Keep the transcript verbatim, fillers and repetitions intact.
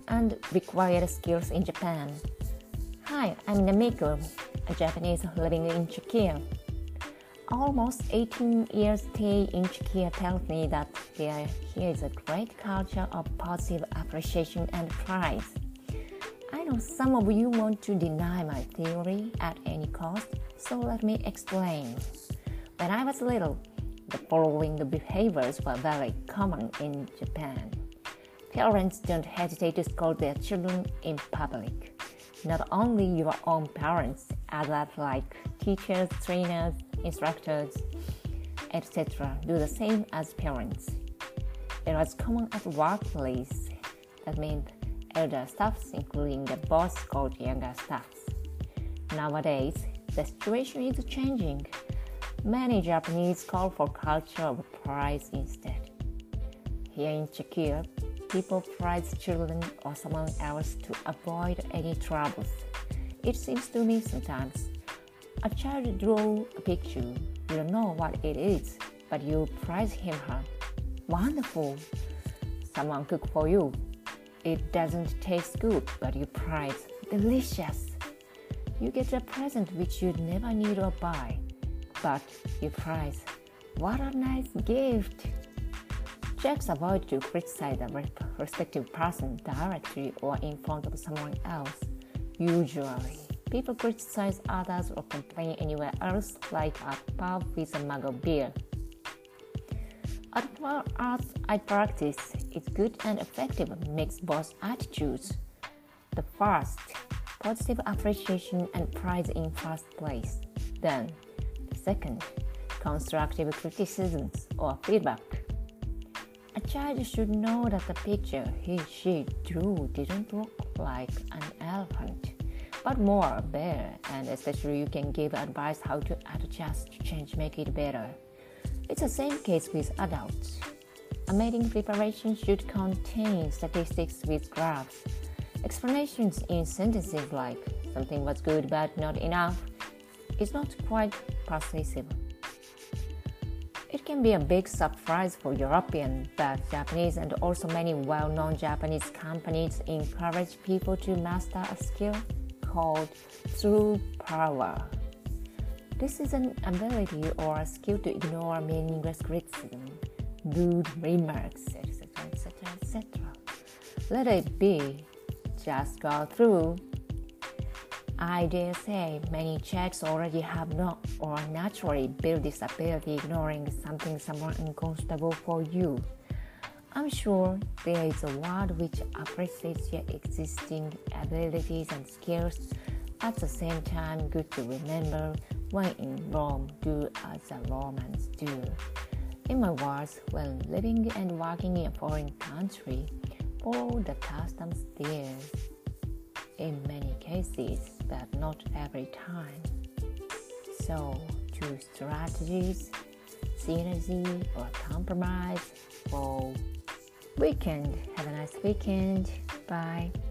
and required skills in Japan. Hi, I'm Namiko, a Japanese living in Czechia. Almost eighteen years stay in Czechia tells me that there here is a great culture of positive appreciation and pride. I know some of you want to deny my theory at any cost, so let me explain. When I was little, the following behaviors were very common in Japan. Parents don't hesitate to scold their children in public. Not only your own parents, others like teachers, trainers, instructors, et cetera do the same as parents. It was common at workplace. That means elder staffs, including the boss, called younger staffs. Nowadays, the situation is changing. Many Japanese call for culture of pride instead. Here in Czechia, people praise children or someone else to avoid any troubles. It seems to me sometimes a child draws a picture, you don't know what it is, but you praise him or her. Wonderful! Someone cook for you. It doesn't taste good, but you praise. Delicious! You get a present which you'd never need or buy, but you praise. What a nice gift! Czechs avoid to criticize the respective person directly or in front of someone else. Usually, people criticize others or complain anywhere else, like a pub with a mug of beer. At art I practice, it's good and effective mix both attitudes. The first, positive appreciation and praise in first place. Then, the second, constructive criticisms or feedback. A child should know that the picture he she drew didn't look like an elephant, but more a bear, and especially you can give advice how to adjust, change, make it better. It's the same case with adults. A mating preparation should contain statistics with graphs. Explanations in sentences like something was good but not enough is not quite persuasive. It can be a big surprise for European, but Japanese and also many well-known Japanese companies encourage people to master a skill called true power. This is an ability or a skill to ignore meaningless criticism, rude remarks, et cetera, et cetera, et cetera. Let it be. Just go through. I dare say many Czechs already have not or naturally built this ability, ignoring something somewhat uncomfortable for you. I'm sure there is a word which appreciates your existing abilities and skills. At the same time, good to remember, when in Rome, do as the Romans do. In my words, when living and working in a foreign country, follow the customs there. In many cases, but not every time. So, choose strategies, synergy, or compromise for weekend. Have a nice weekend. Bye.